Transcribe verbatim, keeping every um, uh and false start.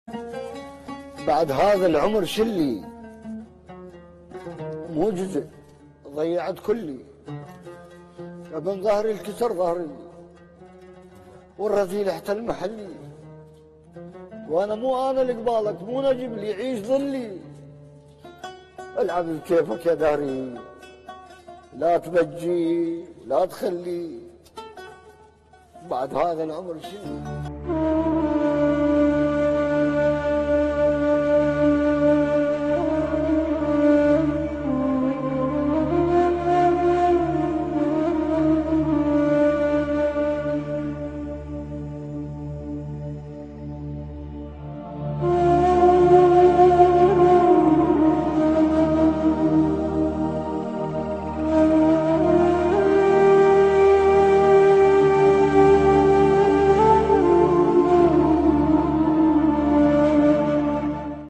بعد هذا العمر شلي مو جزء، ضيعت كلي. ابن ظهري الكسر ظهري والرذيل احتل محلي، وانا مو انا اللي قبالك، مو نجم لي يعيش ظلي. العب بكيفك يا داري، لا تبجي لا تخلي، بعد هذا العمر شنو.